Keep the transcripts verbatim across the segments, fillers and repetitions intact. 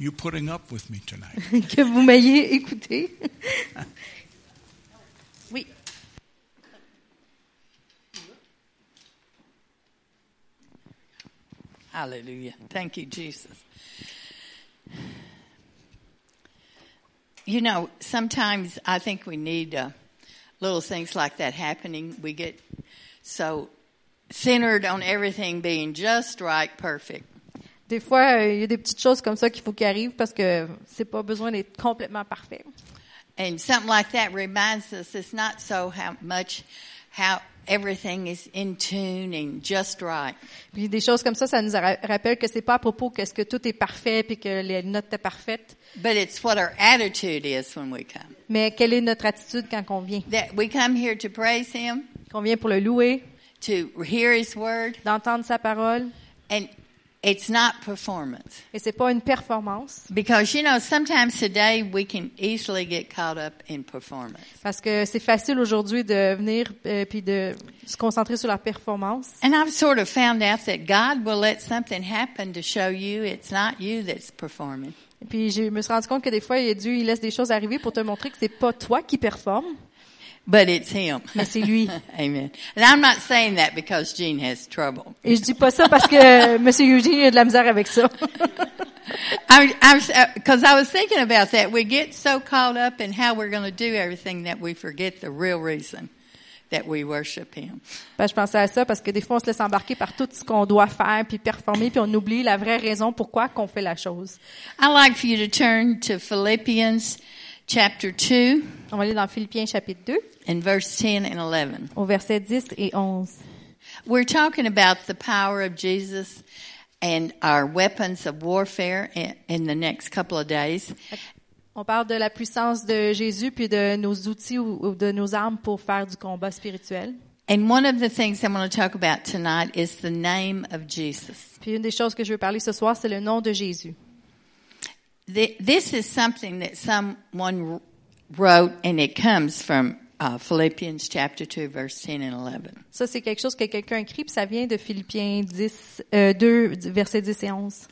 you putting up with me tonight. Que vous m'ayez écouté. Oui. Hallelujah. Thank you, Jesus. You know, sometimes I think we need uh, little things like that happening. We get so centered on everything being just right, perfect. Des fois, il euh, y a des petites choses comme ça qu'il faut qu'ils arrivent parce que c'est pas besoin d'être complètement parfait. And something like that reminds us it's not so how much how everything is in tune and just right. Puis des choses comme ça, ça nous ra- rappelle que c'est pas à propos qu'est-ce que tout est parfait puis que les notes étaient parfaites. But it's what our attitude is when we come. Mais quelle est notre attitude quand on vient? That we come here to praise Him, Qu'on vient pour le louer, to hear His word, d'entendre sa parole, and it's not performance. et c'est pas une performance. Because, you know, sometimes today we can easily get caught up in performance. Parce que c'est facile aujourd'hui de venir euh, puis de se concentrer sur la performance. And I've sort of found out that God will let something happen to show you it's not you that's performing. Et puis je me suis rendu compte que des fois, Dieu il laisse des choses arriver pour te montrer que c'est pas toi qui performe, But it's Him. mais c'est lui. Amen. And I'm not saying that because Gene has trouble. Et je dis pas ça parce que Monsieur Eugene a de la misère avec ça. I, I was, because I was thinking about that. We get so caught up in how we're going to do everything that we forget the real reason that we worship Him. Ben, je pensais à ça parce que des fois, on se laisse embarquer par tout ce qu'on doit faire puis performer, puis on oublie la vraie raison pourquoi qu'on fait la chose. I'd like for you to turn to Philippians chapter two On va aller dans Philippiens chapitre deux, and verse ten and eleven. au verset dix et onze. We're talking about the power of Jesus and our weapons of warfare in, in the next couple of days. On parle de la puissance de Jésus puis de nos outils ou, ou de nos armes pour faire du combat spirituel. And one of the things I want to talk about tonight is the name of Jesus. Puis une des choses que je veux parler ce soir, c'est le nom de Jésus. The, this is something that someone wrote, and it comes from uh, Philippians chapter two, verse ten and eleven. Ça, c'est quelque chose que quelqu'un écrit, puis ça vient de Philippiens dix, euh, deux, versets dix et onze.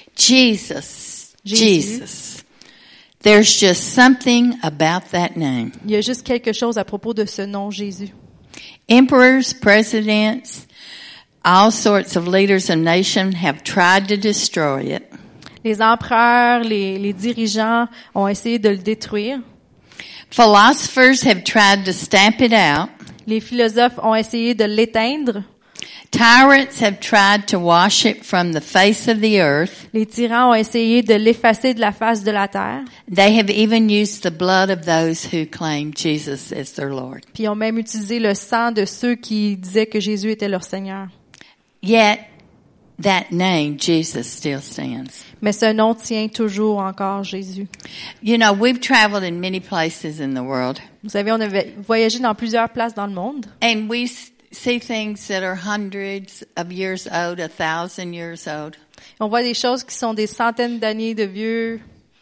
Jesus, Jésus. Jesus. There's just something about that name. Il y a juste quelque chose à propos de ce nom Jésus. Emperors, presidents, all sorts of leaders of nations have tried to destroy it. Les empereurs, les, les dirigeants ont essayé de le détruire. Philosophers have tried to stamp it out. Les philosophes ont essayé de l'éteindre. Tyrants have tried to wash it from the face of the earth. Les tyrans ont essayé de l'effacer de la face de la terre. They have even used the blood of those who claim Jesus as their Lord. Puis ils ont même utilisé le sang de ceux qui disaient que Jésus était leur Seigneur. Yet, that name, Jesus, still stands. Mais ce nom tient toujours encore Jésus. You know, we've traveled in many places in the world, Vous savez, on a voyagé dans plusieurs places dans le monde. and we see things that are hundreds of years old, a thousand years old. On voit des choses qui sont des centaines d'années de vieux,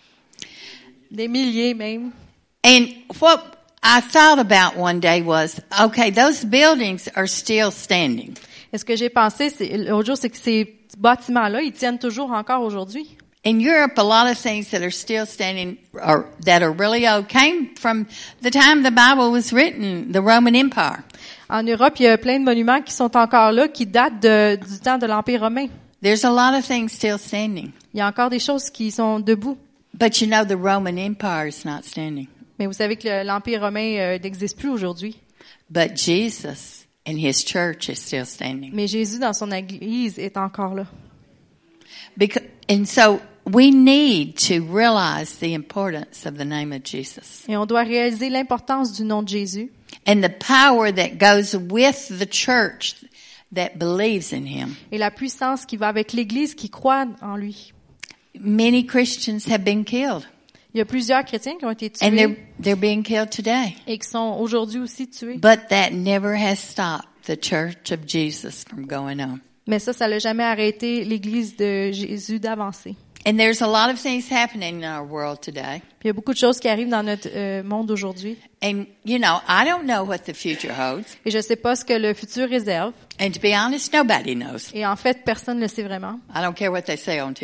des milliers même. And what I thought about one day was, okay, those buildings are still standing. Et ce que j'ai pensé c'est, l'autre jour, c'est que ces bâtiments-là, ils tiennent toujours encore aujourd'hui. In Europe, a lot of things that are still standing or that are really old came from the time the Bible was written, the Roman Empire. En Europe, il y a plein de monuments qui sont encore là, qui datent de, du temps de l'Empire romain. There's a lot of things still standing. Il y a encore des choses qui sont debout. But you know, the Roman Empire is not standing. Mais vous savez que le, l'Empire romain euh, n'existe plus aujourd'hui. But Jesus and His church is still standing. Mais Jésus, dans son Église, est encore là. Because, and so we need to realize the importance of the name of Jesus. Et on doit réaliser l'importance du nom de Jésus. And the power that goes with the church that believes in Him. Et la puissance qui va avec l'Église qui croit en lui. Many Christians have been killed. Il y a plusieurs chrétiens qui ont été And they're, tués they're being killed today. et qui sont aujourd'hui aussi tués. But that never has stopped the church of Jesus from going on. Mais ça, ça l'a jamais arrêté l'Église de Jésus d'avancer. And there's a lot of things happening in our world today. Puis il y a beaucoup de choses qui arrivent dans notre euh, monde aujourd'hui. And, you know, I don't know what the future holds. Et je sais pas ce que le futur réserve. And to be honest, nobody knows. Et en fait, personne ne le sait vraiment. I don't care what they say on T V.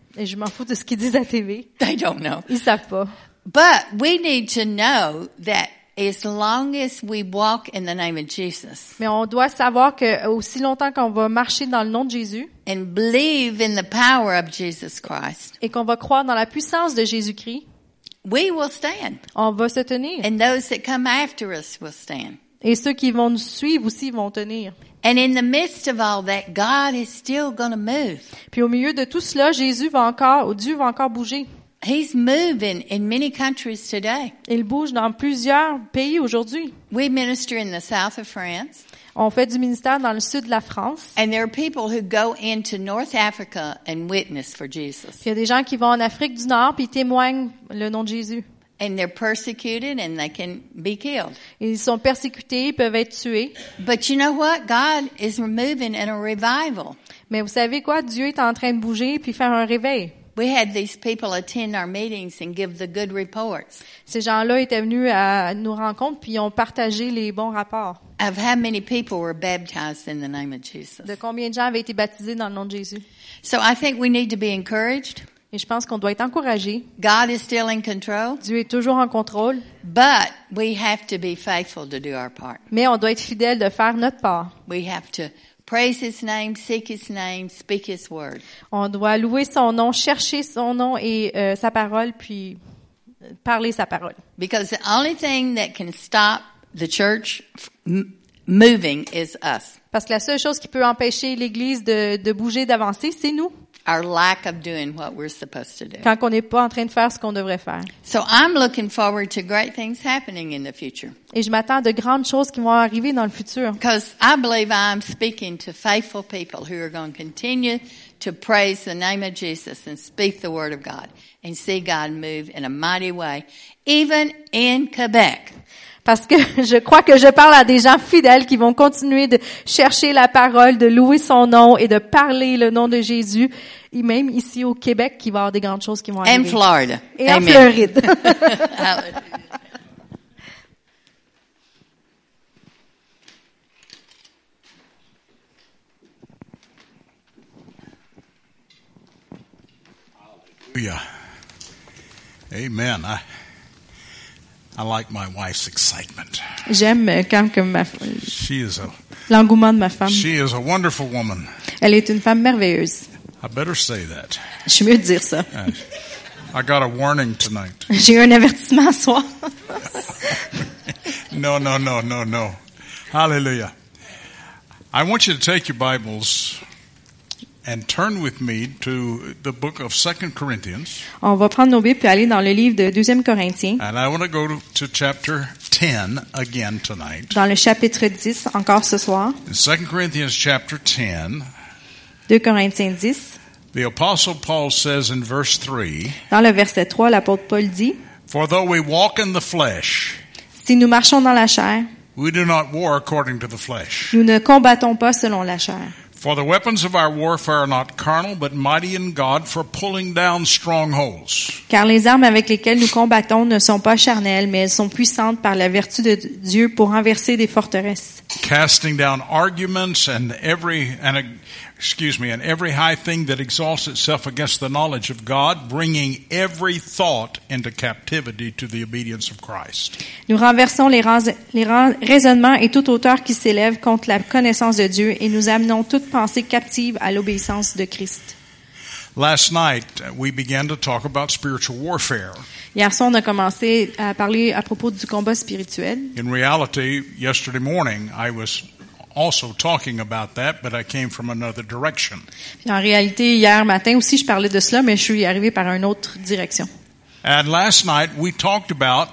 Et je m'en fous de ce qu'ils disent à T V. They don't know. Ils savent pas. But we need to know that as long as we walk in the name of Jesus Mais on doit savoir que aussi longtemps qu'on va marcher dans le nom de Jésus and believe in the power of Jesus Christ, et qu'on va croire dans la puissance de Jésus-Christ, we will stand. on va se tenir. And those that come after us will stand. Et ceux qui vont nous suivre aussi vont tenir. And in the midst of all that, God is still going to move. Puis au milieu de tout cela, Jésus va encore, ou Dieu va encore bouger. He's moving in many countries today. Il bouge dans plusieurs pays aujourd'hui. We minister in the south of France. On fait du ministère dans le sud de la France. And there are people who go into North Africa and witness for Jesus. Puis il y a des gens qui vont en Afrique du Nord puis ils témoignent le nom de Jésus. And they're persecuted and they can be killed. Ils sont persécutés, ils peuvent être tués. But you know what? God is moving in a revival. Mais vous savez quoi? Dieu est en train de bouger puis faire un réveil. We had these people attend our meetings and give the good reports Ces gens-là étaient venus à nos rencontres puis ils ont partagé les bons rapports. of how many people were baptized in the name of Jesus. De combien de gens avaient été baptisés dans le nom de Jésus. So I think we need to be encouraged. Et je pense qu'on doit être encouragé. God is still in control, Dieu est toujours en contrôle, but we have to be faithful to do our part. mais on doit être fidèle de faire notre part. We have to praise His name, seek His name, speak His word. On doit louer son nom, chercher son nom et euh, sa parole, puis euh, parler sa parole. Because the only thing that can stop the church m- moving is us. Parce que la seule chose qui peut empêcher l'Église de, de bouger, d'avancer, c'est nous. Our lack of doing what we're supposed to do. Quand on n'est pas en train de faire ce qu'on devrait faire. So I'm looking forward to great things happening in the future. Et je m'attends à de grandes choses qui vont arriver dans le futur. Because I believe I'm speaking to faithful people who are going to continue to praise the name of Jesus and speak the word of God and see God move in a mighty way, even in Quebec. Parce que je crois que je parle à des gens fidèles qui vont continuer de chercher la parole, de louer son nom et de parler le nom de Jésus. Et même ici au Québec, il va y avoir des grandes choses qui vont And arriver. Florida. Et en Amen. Floride. Hallelujah. Hallelujah. Amen. I, I like my wife's excitement. J'aime quand que ma, She is a l'engouement de ma femme. she is a wonderful woman. Elle est une femme merveilleuse. I better say that. Je suis mieux de dire ça. Uh, I got a warning tonight. J'ai eu un avertissement ce soir. No, no, no, no, no. Hallelujah. I want you to take your Bibles and turn with me to the book of Second Corinthians. On va prendre nos Bibles et aller dans le livre de deuxième Corinthiens, And I want to go to, to chapter ten again tonight. dans le chapitre dix, encore ce soir. In Second Corinthians chapter ten, deux Corinthiens dix. the Apostle Paul says in verse three, Dans le verset trois, l'apôtre Paul dit, For though we walk in the flesh, si nous marchons dans la chair, we do not war according to the flesh. nous ne combattons pas selon la chair. For the weapons of our warfare are not carnal, but mighty in God for pulling down strongholds. Car les armes avec lesquelles nous combattons ne sont pas charnelles, mais elles sont puissantes par la vertu de Dieu pour renverser des forteresses. Casting down arguments and every and uh, excuse me and every high thing that exalts itself against the knowledge of God, bringing every thought into captivity to the obedience of Christ. Nous renversons les, raz- les raz- raisonnements et toute hauteur qui s'élève contre la connaissance de Dieu et nous amenons toute pensée captive à l'obéissance de Christ. Last night uh, we began to talk about spiritual warfare. Hier soir, on a commencé à parler à propos du combat spirituel. In reality, yesterday morning I was also talking about that, but I came from another direction. Puis en réalité, hier matin aussi, je parlais de cela, mais je suis arrivée par une autre direction. And last night we talked about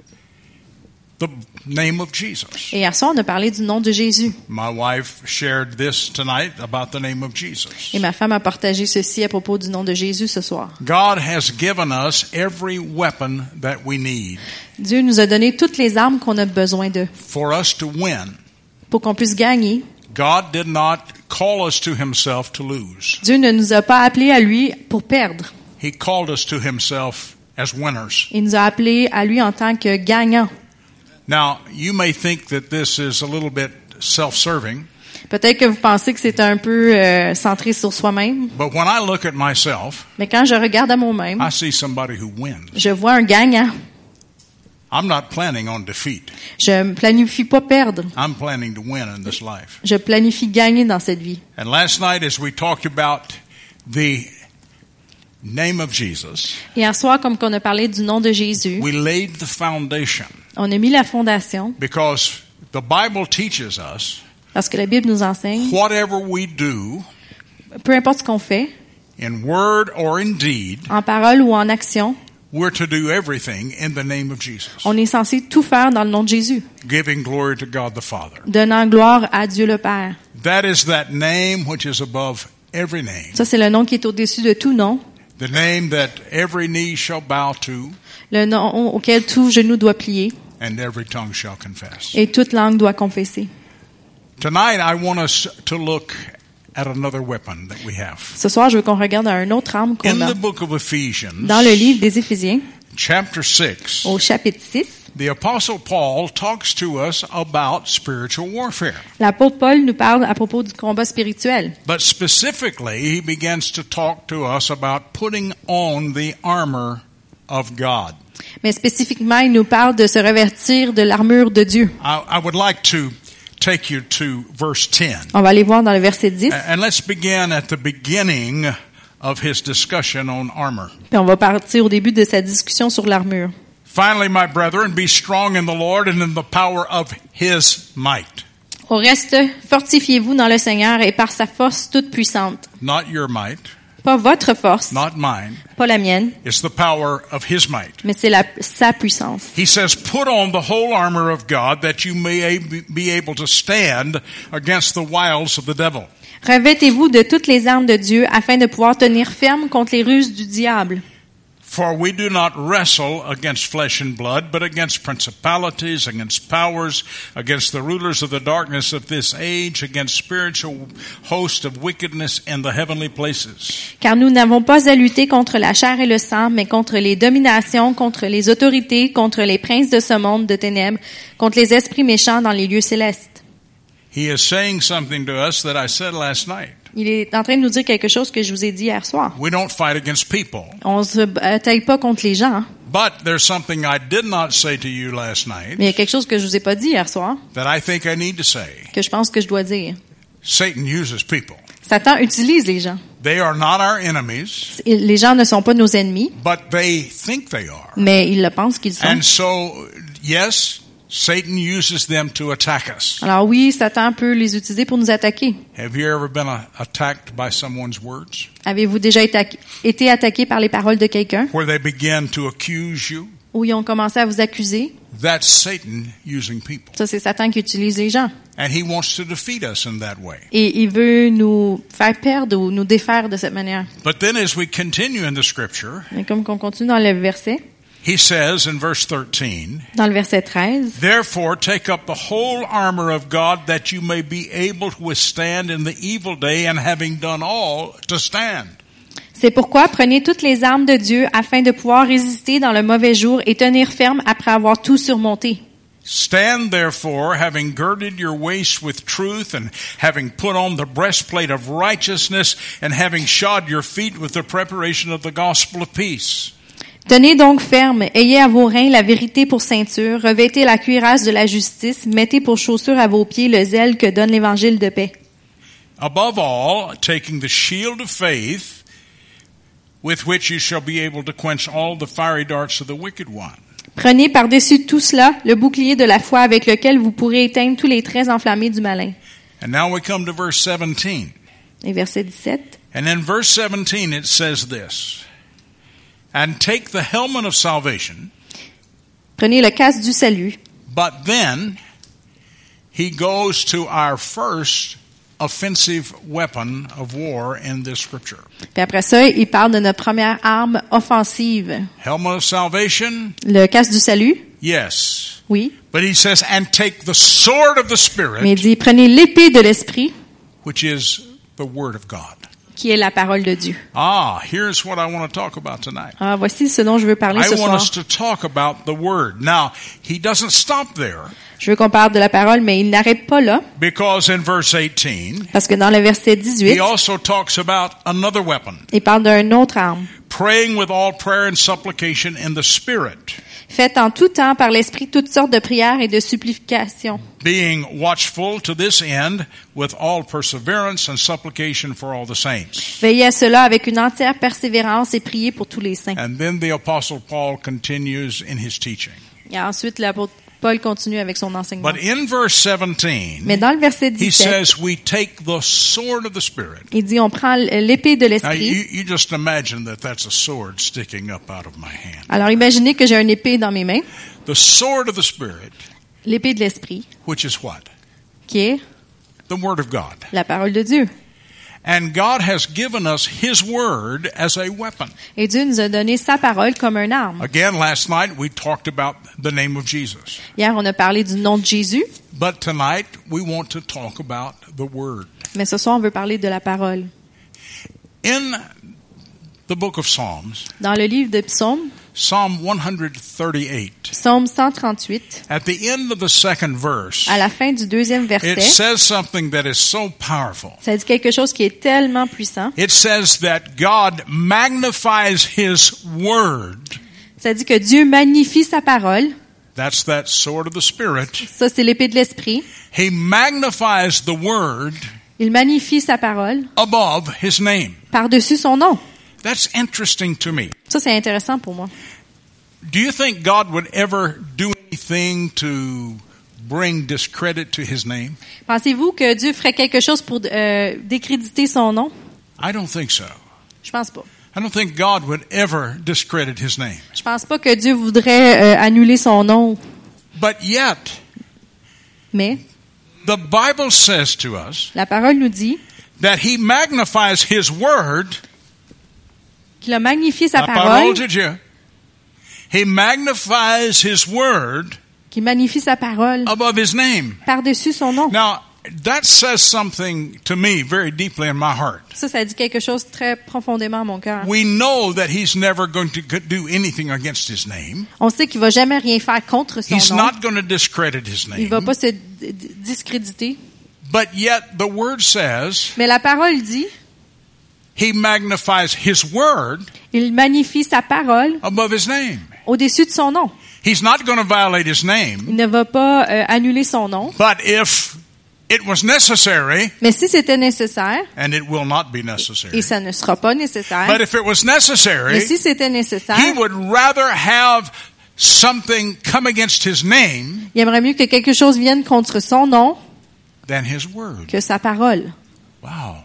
the name of Jesus. Et hier soir, on a parlé du nom de Jésus. My wife shared this tonight about the name of Jesus. Et ma femme a partagé ceci à propos du nom de Jésus ce soir. God has given us every weapon that we need Dieu nous a donné toutes les armes qu'on a besoin de for us to win. pour qu'on puisse gagner. God did not call us to himself to lose. Dieu ne nous a pas appelés à lui pour perdre. He called us to himself as winners. Il nous a appelés à lui en tant que gagnants. Now, you may think that this is a little bit self-serving, Peut-être que vous pensez que c'est un peu euh, centré sur soi-même, But when I look at myself, mais quand je regarde à moi-même, I see somebody who wins. je vois un gagnant. I'm not planning on defeat. Je ne planifie pas perdre. I'm planning to win in this life. Je planifie gagner dans cette vie. And last night, as we talked about the name of Jesus, Hier soir, comme qu'on a parlé du nom de Jésus, we laid the foundation on a mis la fondation because the Bible teaches us parce que la Bible nous enseigne, whatever we do peu importe ce qu'on fait, in word or in deed, en parole ou en action, we're to do everything in the name of Jesus, on est censé tout faire dans le nom de Jésus, giving glory to God the Father. donnant gloire à Dieu le Père. That is that name which is above every name, Ça, c'est le nom qui est au-dessus de tout nom, the name that every knee shall bow to le nom auquel tout genou doit plier and every tongue shall confess. et toute langue doit confesser. Tonight, I want us to look at another weapon that we have. Ce soir, je veux qu'on regarde à une autre arme qu'on In a. the book of Ephesians, Dans le livre des Éphésiens, chapter six, au chapitre six, the Apostle Paul talks to us about spiritual warfare. l'apôtre Paul nous parle à propos du combat spirituel. But specifically, he begins to talk to us about putting on the armor of God. Mais spécifiquement, il nous parle de se revêtir de l'armure de Dieu. I, I would like to take you to verse ten. On va aller voir dans le verset dix, And let's begin at the beginning of his discussion on armor. puis on va partir au début de sa discussion sur l'armure. Finally, my brethren, be strong in the Lord and in the power of his might. Au reste, fortifiez-vous dans le Seigneur et par sa force toute puissante. Not your might, Pas votre force, not mine. pas la mienne, It's the power of his might. mais c'est la, sa puissance. He says, put on the whole armor of God that you may be able to stand against the wiles of the devil. Revêtez-vous de toutes les armes de Dieu afin de pouvoir tenir ferme contre les ruses du diable. For we do not wrestle against flesh and blood, but against principalities, against powers, against the rulers of the darkness of this age, against spiritual hosts of wickedness in the heavenly places. Car nous n'avons pas à lutter contre la chair et le sang, mais contre les dominations, contre les autorités, contre les princes de ce monde de ténèbres, contre les esprits méchants dans les lieux célestes. He is saying something to us that I said last night. Il est en train de nous dire quelque chose que je vous ai dit hier soir. We don't fight against people. On se bataille pas contre les gens, hein. But there's something I did not say to you last night Mais il y a quelque chose que je vous ai pas dit hier soir, that I think I need to say. que je pense que je dois dire. Satan uses people. Satan utilise les gens. They are not our enemies, Les gens ne sont pas nos ennemis, but they think they are. mais ils le pensent qu'ils sont. And so, yes, Satan uses them to attack us. Alors oui, Satan peut les utiliser pour nous attaquer. Have you ever been uh, attacked by someone's words? Avez-vous déjà été, été attaqué par les paroles de quelqu'un, Where they begin to accuse you? où ils ont commencé à vous accuser? That's Satan using people. Ça, c'est Satan qui utilise les gens. And he wants to defeat us in that way. Et il veut nous faire perdre ou nous défaire de cette manière. But then as we continue in the scripture, Mais comme qu'on continue dans le verset, he says in verse thirteen, dans le verset treize, therefore take up the whole armor of God that you may be able to withstand in the evil day, and having done all, to stand. c'est pourquoi prenez toutes les armes de Dieu afin de pouvoir résister dans le mauvais jour et tenir ferme après avoir tout surmonté. Stand therefore, having girded your waist with truth, and having put on the breastplate of righteousness, and having shod your feet with the preparation of the gospel of peace. Tenez donc ferme, ayez à vos reins la vérité pour ceinture, revêtez la cuirasse de la justice, mettez pour chaussure à vos pieds le zèle que donne l'évangile de paix. Above all, taking the shield of faith, with which you shall be able to quench all the fiery darts of the wicked one. Prenez par-dessus tout cela le bouclier de la foi avec lequel vous pourrez éteindre tous les traits enflammés du malin. And now we come to verse seventeen. Et verset dix-sept. And in verse seventeen it says this, and take the helmet of salvation. Prenez le casque du salut. But then he goes to our first offensive weapon of war in this scripture. Puis après ça, il parle de notre première arme offensive. Helmet of salvation? Le casque du salut? Yes. Oui. But he says, and take the sword of the Mais il Spirit, dit, prenez l'épée de l'esprit, which is the word of God. qui est la parole de Dieu. Ah, here's what I want to talk about tonight. Ah, voici ce dont je veux parler I ce want soir. us to talk about the Word. Now, he doesn't stop there, Je veux qu'on parle de la parole, mais il n'arrête pas là, because in verse eighteen, parce que dans le verset dix-huit, he also talks about another weapon, il parle d'une autre arme. praying with all prayer and supplication in the Spirit, Faites en tout temps par l'Esprit toutes sortes de prières et de supplications, being watchful to this end with all perseverance and supplication for all the saints. veillez à cela avec une entière persévérance et priez pour tous les saints. And then the Apostle Paul continues in his teaching. Et ensuite, l'apôtre Paul continue avec son enseignement. But in verse seventeen, Mais dans le verset he dix-sept, says we take the sword of the Spirit. il dit on prend l'épée de Now, l'Esprit. you, you just imagine that that's a sword sticking up out of my hand. Alors imaginez que j'ai une épée dans mes mains, The sword of the Spirit, l'épée de l'Esprit, which is what? qui est The Word of God. la parole de Dieu. And God has given us His Word as a weapon. Et Dieu nous a donné sa parole comme une arme. Again, last night we talked about the name of Jesus. Hier, on a parlé du nom de Jésus, But tonight we want to talk about the Word. mais ce soir, on veut parler de la parole. In the book of Psalms, Dans le livre de Psaumes, Psalm one thirty-eight, Psaume cent trente-huit, at the end of the second verse, à la fin du deuxième it verset, says something that is so powerful. ça dit quelque chose qui est tellement puissant. It says that God magnifies His Word. Ça dit que Dieu magnifie sa parole. That's that sword of the Spirit. Ça, c'est l'épée de l'Esprit. He magnifies the Word Il magnifie sa parole above His name. par-dessus son nom. That's interesting to me. Ça, c'est intéressant pour moi. Do you think God would ever do anything to bring discredit to His name? Pensez-vous que Dieu ferait quelque chose pour euh, décréditer son nom? I don't think so. Je pense pas. I don't think God would ever discredit His name. Je pense pas que Dieu voudrait euh, annuler son nom. But yet, Mais the Bible says to us la parole nous dit that He magnifies His Word. qu'il a magnifié sa La parole, parole de Dieu. He magnifies His Word qu'il magnifie sa parole above His name. par-dessus son nom. Now, that says something to me very deeply in my heart. Ça, ça dit quelque chose très profondément à mon cœur. We know that He's never going to do anything against His name. On sait qu'il va jamais rien faire contre son He's nom. not going to discredit His Il va name. pas se d- d- discréditer. But yet the Word says Mais la parole dit, He magnifies His Word il magnifie sa parole above His name. au-dessus de son nom. He's not going to violate His name. Il ne va pas euh, annuler son nom. But if it was necessary, Mais si c'était nécessaire, and it will not be et necessary, ça ne sera pas nécessaire, but if it was mais necessary, si c'était nécessaire, He would rather have something come against His name il aimerait mieux que quelque chose vienne contre son nom than His Word. que sa parole. Wow.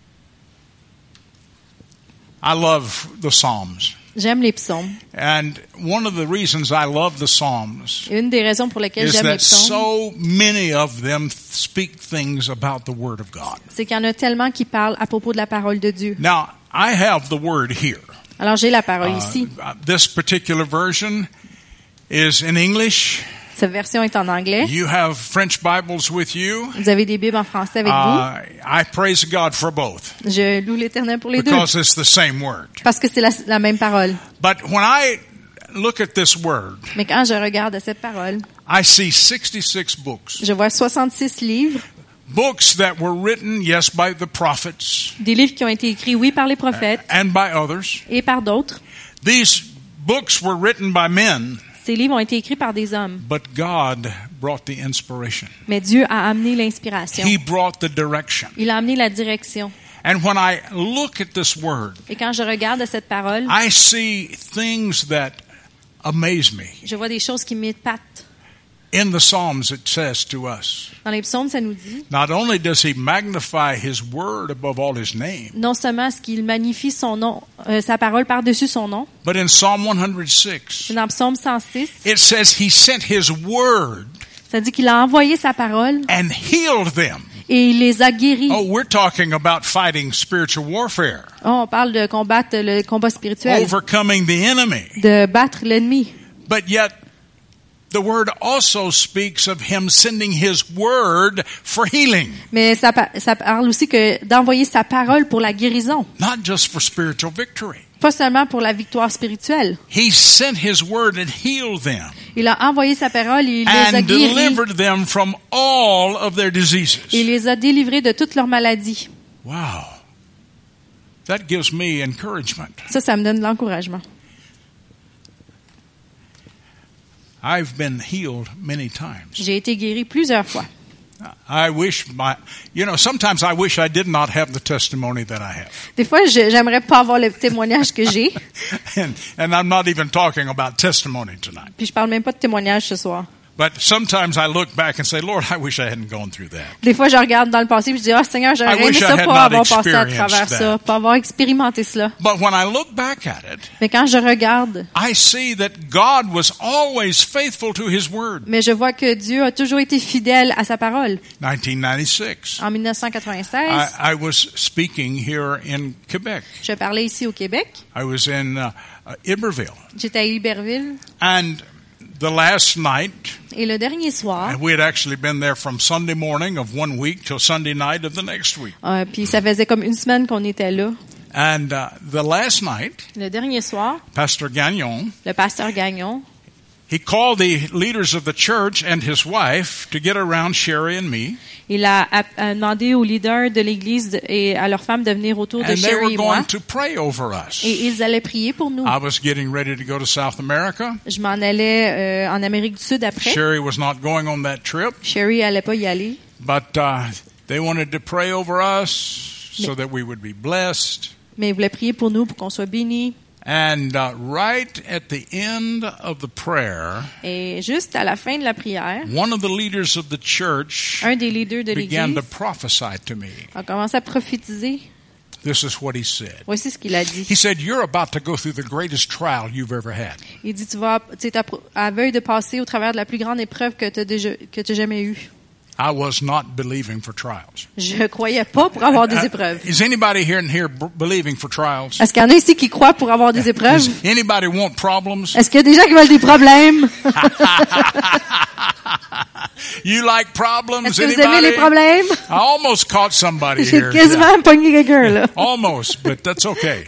I love the Psalms. J'aime les psaumes. And one of the reasons I love the Psalms Et une des raisons pour lesquelles is j'aime les that psaumes, so many of them speak things about the Word of God. c'est qu'il y en a tellement qui parlent à propos de la parole de Dieu. Now, I have the Word here. Alors j'ai la parole Uh, ici. this particular version is in English. Cette version est en anglais. You have French Bibles with you. Vous avez des Bibles en français avec Uh, I praise God for both vous. Je loue l'Éternel pour les deux. because it's the same word. Parce que c'est la, la même parole. But when I look at this word, Mais quand je regarde cette parole, I see sixty-six books. je vois soixante-six livres, Books that were written, yes, by the prophets des livres qui ont été écrits, oui, par les prophètes and by others. et par d'autres. These books were written by men, Ces livres ont été écrits par des hommes. but God brought the inspiration. Mais Dieu a amené l'inspiration. He brought the direction. Il a amené la direction. And when I look at this word, Et quand je regarde cette parole, I see things that amaze me. je vois des choses qui m'épatent. In the Psalms, it says to us, Dans les psaumes, ça nous dit, not only does He magnify His word above all His name, non seulement est-ce qu'il magnifie son nom, euh, sa parole par-dessus son nom, but in Psalm one oh six, dans Psaume cent six, it says He sent His word ça dit qu'il a envoyé sa parole and healed them. et il les a guéris. Oh, we're talking about fighting spiritual warfare, Oh, on parle de combattre le combat spirituel, overcoming the enemy. de battre l'ennemi. But yet, the word also speaks of him sending his word for healing, Mais ça, pa- ça parle aussi que d'envoyer sa parole pour la guérison, not just for spiritual victory. pas seulement pour la victoire spirituelle. He sent his word and healed them Il a envoyé sa parole et il les a and guéris. delivered them from all of their diseases. Il les a délivrés de toutes leurs maladies. Wow. That gives me encouragement. Ça, ça me donne de l'encouragement. I've been healed many times. J'ai été guéri plusieurs fois. I wish my, you know, sometimes I wish I did not have the testimony that I have. Des fois, je, j'aimerais pas avoir le témoignage que j'ai. and, and I'm not even talking about testimony tonight. Puis je parle même pas de témoignage ce soir. But sometimes I look back and say, Lord, I wish I hadn't gone through that. Des fois, je regarde dans le passé et je dis, ah, Seigneur, j'aurais I aimé wish I ça had pas not avoir passé à travers experienced ça, pas avoir expérimenté cela. But when I look back at it, Mais quand je regarde, I see that God was always faithful to His word. mais je vois que Dieu a toujours été fidèle à sa parole. nineteen ninety-six. En dix-neuf cent quatre-vingt-seize, I, I was speaking here in Quebec. je parlais ici au Québec. I was in uh, uh, Iberville. J'étais à Iberville. And the last night, Et le dernier soir, we had actually been there from Sunday morning of one week till Sunday night of the next week. euh, puis ça faisait comme une semaine qu'on était là. And uh, the last night, Le dernier soir, Pastor Gagnon, le pasteur Gagnon, he called the leaders of the church and his wife to get around Sherry and me. il a, a, a demandé aux leaders de l'Église de- et à leurs femmes de venir autour de And they were Sherry et moi. going to pray over us. Et ils allaient prier pour nous. I was getting ready to go to South America. Je m'en allais euh, en Amérique du Sud après. Sherry was not going on that trip, Sherry allait pas y aller. but uh, they wanted to pray over us so that we would be blessed. Mais ils voulaient prier pour nous, pour qu'on soit bénis. And uh, right at the end of the prayer, Et juste à la fin de la prière, one of the leaders of the church un des leaders de began l'Église to prophesy to me. a commencé à prophétiser. This is what he said. Voici ce qu'il a dit. He said, "You're about to go through the greatest trial you've ever had." Il dit, tu vas, tu es à, à veille de passer au travers de la plus grande épreuve que tu as déjà, que tu as jamais eue. I was not believing for trials. Je croyais pas pour avoir des épreuves. Uh, is anybody here in here b- believing for trials? Est-ce qu'il y en a ici qui croient pour avoir des épreuves? Does anybody want problems? Est-ce qu'il y a des gens qui veulent des problèmes? You like problems? Est-ce que vous aimez Anybody? les problèmes? I almost caught somebody J'ai here. quasiment Yeah. pogné quelqu'un, là. Almost, but that's okay.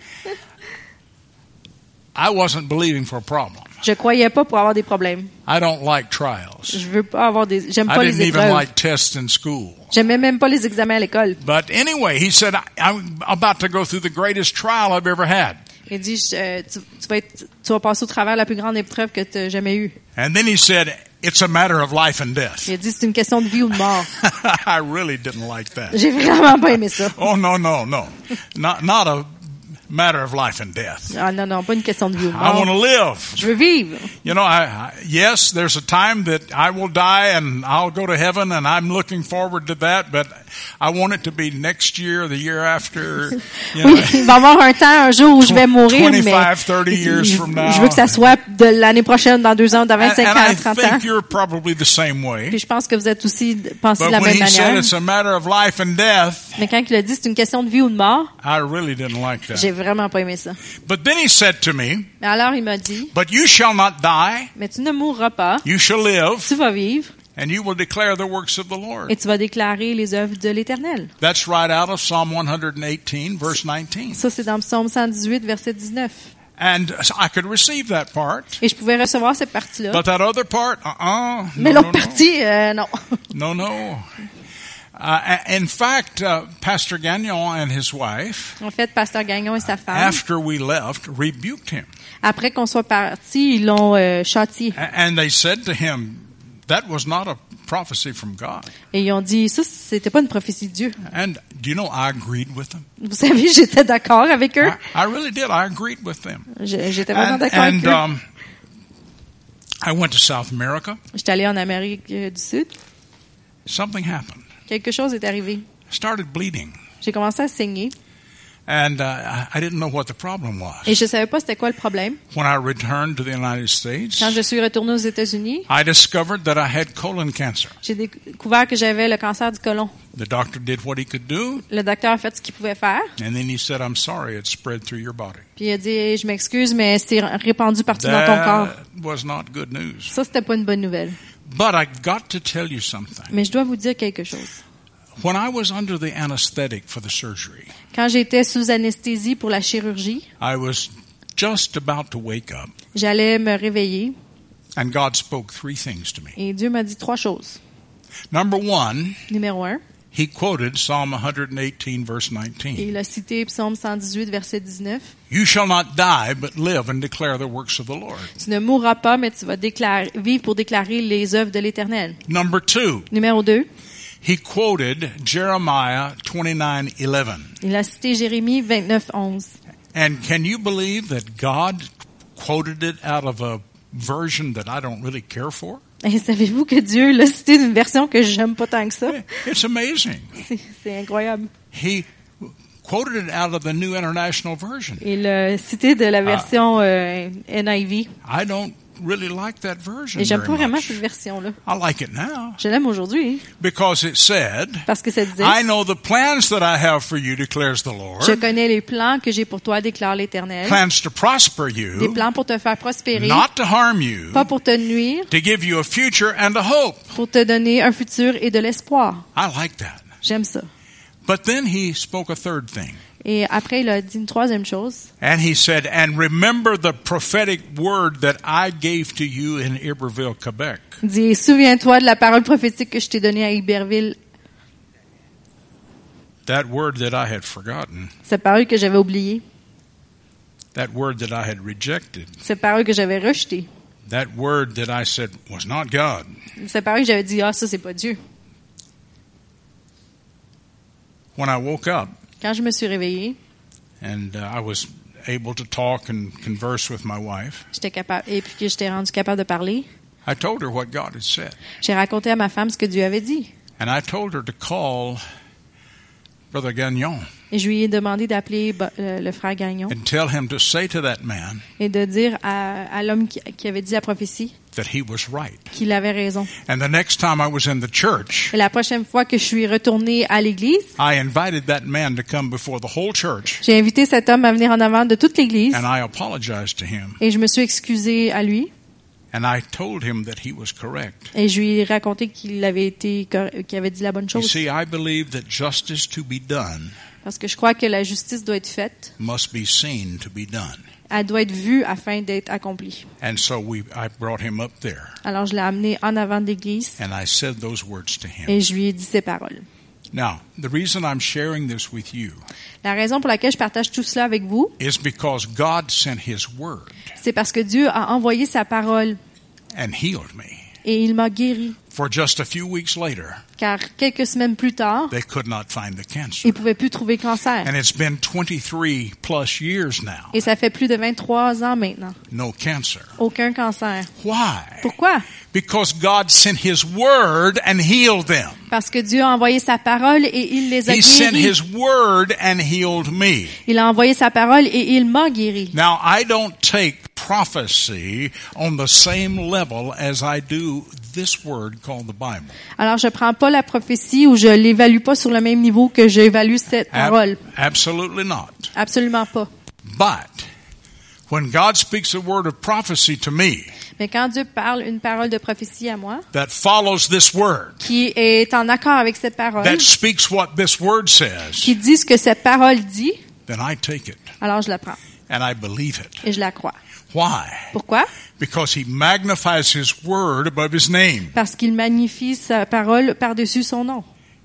I wasn't believing for a problem. Je croyais pas pour avoir des problèmes. I don't like trials. Je veux pas avoir des, j'aime I pas didn't les even épreuves. like tests in school. J'aimais même pas les examens à l'école. But anyway, he said, I, I'm about to go through the greatest trial I've ever had. Il dit, je- euh, tu, tu vas être, tu vas passer au travers de la plus grande épreuve que tu as jamais eue. And then he said, it's a matter of life and death. Il dit, c'est une question de vie ou de mort. I really didn't like that. J'ai vraiment pas aimé ça. Oh, no, no, no. Not, not a matter of life and death. Ah non, non, pas une question de vie ou de I want to mort. live. Je veux vivre. You know, I, I, yes, there's a time that I will die and I'll go to heaven and I'm looking forward to that, but I want it to be next year, the year after, you know. Oui, il va y avoir un temps, un jour où je vais mourir, mais twenty-five, thirty years from now. je veux que ça soit de l'année prochaine, dans deux ans, dans And, vingt-cinq and ans, I trente ans. think you're probably the same way. Puis je pense que vous êtes aussi pensé de But la when même he said manière. it's a matter of life and death, Mais quand il a dit c'est une question de vie ou de mort, I really didn't like j'ai that. vraiment pas aimé ça. But then he said to me, Mais alors il m'a dit, but you shall not die, mais tu ne mourras pas, you shall live, tu vas vivre and you will declare the works of the Lord. et tu vas déclarer les œuvres de l'Éternel. That's right out of Psalm one eighteen, verse nineteen. Ça, c'est dans Psaume cent dix-huit, verset dix-neuf. And I could receive that part, Et je pouvais recevoir cette partie-là. but that other part, uh-uh, Mais no, l'autre no, no. partie, euh, non. No, no. Uh, in fact, uh, Pastor Gagnon and his wife, En fait, Pasteur Gagnon et sa femme, after we left, rebuked him. après qu'on soit partis, ils l'ont euh, châtié. A- And they said to him, that was not a prophecy from God. Et ils ont dit, ça, c'était pas une prophétie de Dieu. And do you know, I agreed with them. Vous savez, j'étais d'accord avec eux. I, I really did. I agreed with them. Je- J'étais vraiment And, d'accord avec and eux. um, I went to South America. J'étais allée en Amérique euh, du Sud. Something happened. Quelque chose est arrivé. I started bleeding. J'ai commencé à saigner. And uh, I didn't know what the problem was. Et je savais pas c'était quoi le problème. When I returned to the United States, Quand je suis retournée aux États-Unis, I discovered that I had colon cancer. j'ai découvert que j'avais le cancer du côlon. The doctor did what he could do, Le docteur a fait ce qu'il pouvait faire. and then he said, "I'm sorry, it spread through your body." Puis il a dit, hey, je m'excuse, mais c'est répandu partout dans ton corps. That was not good news. Ça, c'était pas une bonne nouvelle. But I got to tell you something. Mais je dois vous dire quelque chose. When I was under the anesthetic for the surgery, Quand j'étais sous anesthésie pour la chirurgie, I was just about to wake up, j'allais me réveiller and God spoke three things to me. et Dieu m'a dit trois choses. Number one, Numéro un, he quoted Psalm one eighteen, verse et nineteen. il a cité Psaume cent dix-huit, verset dix-neuf. You shall not die, but live and declare the works of the Lord. Tu ne mourras pas, mais tu vas déclarer, vivre pour déclarer les œuvres de l'Éternel. Number two, Numéro deux, he quoted Jeremiah twenty-nine eleven. il a cité Jérémie vingt-neuf, onze. And can you believe that God quoted it out of a version that I don't really care for? Et savez-vous que Dieu l'a cité d'une version que j'aime pas tant que ça? It's amazing. C'est, c'est incroyable. He quoted it out of the New International Version. Il l'a cité de la version euh, N I V. I don't really like that version Et j'aime very pas vraiment much. cette version-là. I like it now Je l'aime aujourd'hui because it said, parce que ça disait, I know the plans that I have for you, declares the je Lord. connais les plans que j'ai pour toi, déclare l'Éternel. Plans to prosper Des you, plans pour te faire prospérer, not to harm you, pas pour te nuire, to give you a future and a hope. pour te donner un futur et de l'espoir. I like that. J'aime ça. But then he spoke a third thing. Et après, il a dit une troisième chose. And he said, and remember the prophetic word that I gave to you in Iberville, Quebec. Il dit, souviens-toi de la parole prophétique que je t'ai donnée à Iberville, That word that I had forgotten. cette parole que j'avais oubliée, That word that I had rejected. cette parole que j'avais rejetée, That word that I said was not God. cette parole que j'avais dit, ah, ça, c'est pas Dieu. When I woke up Quand je me suis réveillée, and uh, I was able to talk and converse with my wife, j'étais capable, et puis que j'étais rendu capable de parler, I told her what God had said. j'ai raconté à ma femme ce que Dieu avait dit. And I told her to call Brother Gagnon Et je lui ai demandé d'appeler bah, le, le frère Gagnon and tell him to say to that man et de dire à, à l'homme qui, qui avait dit la prophétie that he was right. qu'il avait raison. And the next time I was in the church, Et la prochaine fois que je suis retournée à l'église, I invited that man to come before the whole church, j'ai invité cet homme à venir en avant de toute l'église and I apologized to him, et je me suis excusée à lui and I told him that he was correct. et je lui ai raconté qu'il avait été cor- qu'il avait dit la bonne You chose. see, I believe that justice to be done Parce que je crois que la justice doit être faite, must be seen to be done. elle doit être vue afin d'être accomplie. And so we, I brought him up there, Alors je l'ai amené en avant de l'église and I said those words to him. et je lui ai dit ces paroles. Now, the reason I'm sharing this with you La raison pour laquelle je partage tout cela avec vous, is because God sent His Word c'est parce que Dieu a envoyé sa parole and healed me. et il m'a guéri. For just a few weeks later, Car quelques semaines plus tard, they could not find the cancer. il pouvait plus trouver cancer. And it's been twenty-three plus years now. Et ça fait plus de vingt-trois ans maintenant. No cancer. Aucun cancer. Why? Pourquoi? Because God sent His Word and healed them. Parce que Dieu a envoyé sa parole et il les a He sent guéris. His Word and healed me. Il a envoyé sa parole et il m'a guéri. Now, I don't take prophecy on the same level as I do this word called the Bible. Alors je prends pas la prophétie ou je l'évalue pas sur le même niveau que j'évalue cette Ab- parole. absolutely not. Absolument pas. But when God speaks a word of prophecy to me Mais quand Dieu parle une parole de prophétie à moi, that follows this word, qui est en accord avec cette parole, that speaks what this word says, qui dit ce que cette parole dit, then I take it alors je la prends and I believe it. et je la crois. Why? Pourquoi? Because He magnifies His word above His name. Parce qu'il magnifie sa parole par-dessus son nom.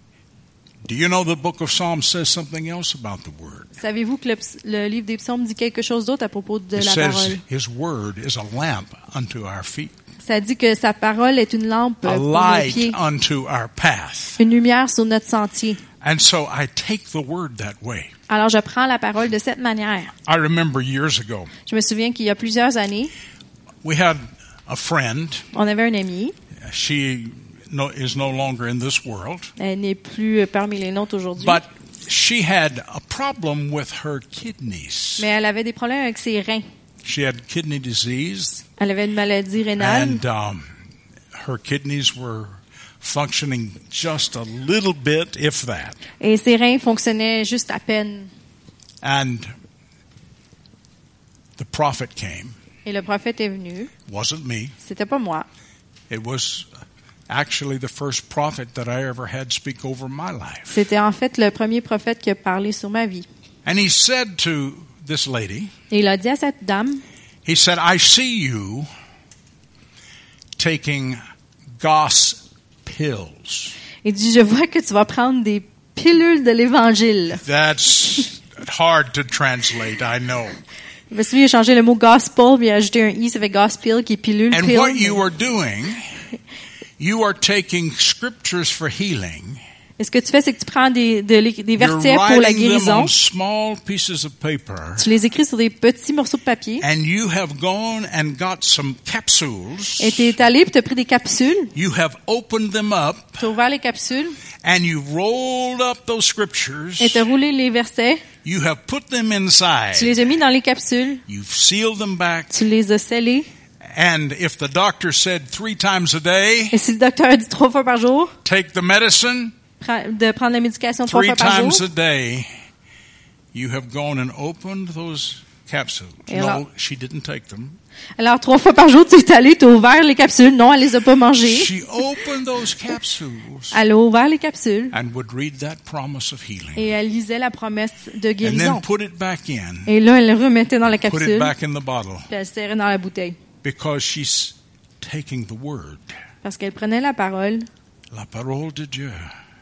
Do you know the book of Psalms says something else about the word? Savez-vous que le, ps- le livre des psaumes dit quelque chose d'autre à propos de It la says parole? His word is a lamp unto our feet, Ça dit que sa parole est une lampe a pour nos light pieds, unto our path. une lumière sur notre sentier. And so I take the word that way. Alors je prends la parole de cette manière. I remember years ago, Je me souviens qu'il y a plusieurs années, we had a friend. on avait un ami. She no, is no longer in this world, Elle n'est plus parmi les nôtres aujourd'hui. but she had a problem with her kidneys. Mais elle avait des problèmes avec ses reins. She had kidney disease, Elle avait une maladie rénale. and um, her kidneys were functioning just a little bit, if that. Et ses reins fonctionnaient juste à peine. And the prophet came. Et le prophète est venu. It wasn't me. C'était pas moi. It was actually the first prophet that I ever had speak over my life. C'était en fait le premier prophète qui a parlé sur ma vie. And he said to this lady, Et il a dit à cette dame, he said, I see you taking Goss pills. il dit, je vois que tu vas prendre des pilules de l'Évangile. That's hard to translate, I know. Je me souviens, il a changé le mot gospel, puis il a ajouté un i, ça fait gospel, qui est pilule, And pill. what you are doing, you are taking scriptures for healing. Et ce que tu fais, c'est que tu prends des, de, des You're versets pour la writing them guérison. on small pieces of paper. Tu les écris sur des petits morceaux de papier. And you have gone and got some capsules. Et tu es allé, puis tu as pris des capsules. You have opened them up. Tu as ouvert les capsules. And you've rolled up those scriptures. Et tu as roulé les versets. You have put them inside. Tu les as mis dans les capsules. You've sealed them back. Tu les as scellés. And if the doctor said three times a day, Et si le docteur a dit trois fois par jour, take the medicine, de prendre la médication trois three fois par times jour. a day, you have gone and opened those capsules. Et No, alors- she didn't take them. Alors, trois fois par jour, tu es allé, tu as ouvert les capsules. Non, elle les a pas mangées. She opened those capsules Elle a ouvert les capsules. and would read that promise of healing. Et elle lisait la promesse de And guérison. then put it back in. Et là, elle le remettait dans la Put it capsule. back in the bottle. Puis elle serrait dans la bouteille. Because she's taking the word. Parce qu'elle prenait la parole. La parole de Dieu.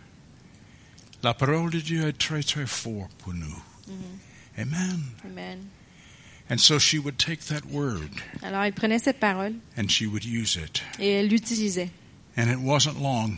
La parole de Dieu est très très fort pour nous. Amen. Amen. And so she would take that word Alors, elle prenait cette parole and she would use it. et elle l'utilisait. And it wasn't long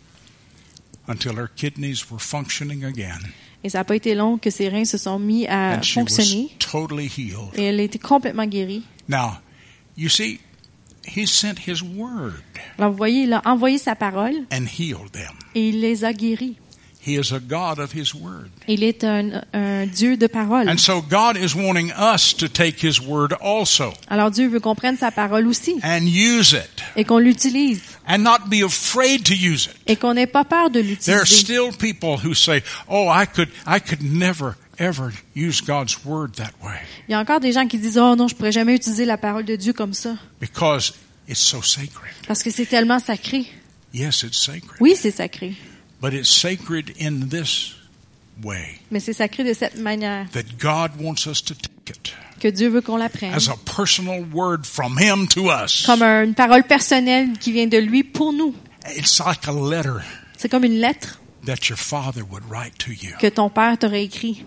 until her kidneys were functioning again. Et ça n'a pas été long que ses reins se sont mis à And she was fonctionner. totally healed. Et elle était complètement guérie. Now, you see, he sent his word Alors, vous voyez, il a envoyé sa parole and healed them. et il les a guéris. He is a God of his word. Il est un, un Dieu de parole. And so God is wanting us to take his word also Alors, Dieu veut qu'on prenne sa parole aussi and use it et qu'on l'utilise and not be afraid to use it. et qu'on n'ait pas peur de There are l'utiliser. still people who say, "Oh, I could I could never ever use God's word that way Il y a encore des gens qui disent « Oh non, je pourrais jamais utiliser la parole de Dieu comme ça because it's so sacred." parce que c'est tellement sacré. Yes, it's sacred. » Oui, c'est sacré, But it's sacred in this way mais c'est sacré de cette manière that God wants us to take it que Dieu veut qu'on la prenne. as a personal word from him to us. Comme un- une parole personnelle qui vient de lui pour nous. It's like a letter C'est comme une lettre that your father would write to you. que ton père t'aurait écrit.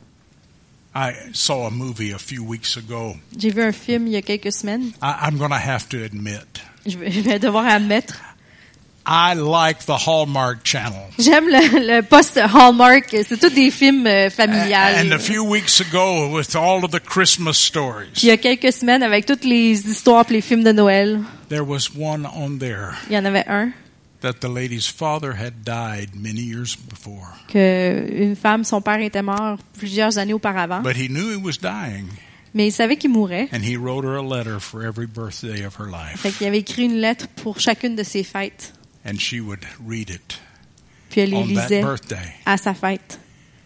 I saw a movie a few weeks ago. J'ai vu un film il y a quelques semaines. I, I'm going to have to admit, Je vais, je vais devoir admettre. I like the Hallmark Channel. J'aime le, le post Hallmark. C'est tous des films euh, familiales. And a few weeks ago, with all of the Christmas stories, Puis il y a quelques semaines, avec toutes les histoires et les films de Noël, there was one on there il y en avait un that the lady's father had died many years before. que une femme, son père était mort plusieurs années auparavant, But he knew he was dying, mais il savait qu'il mourait. and he wrote her a letter for every birthday of her life. Fait qu'il avait écrit une lettre pour chacune de ses fêtes. And she would read it Puis elle les on that lisait birthday. à sa fête.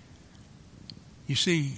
You see,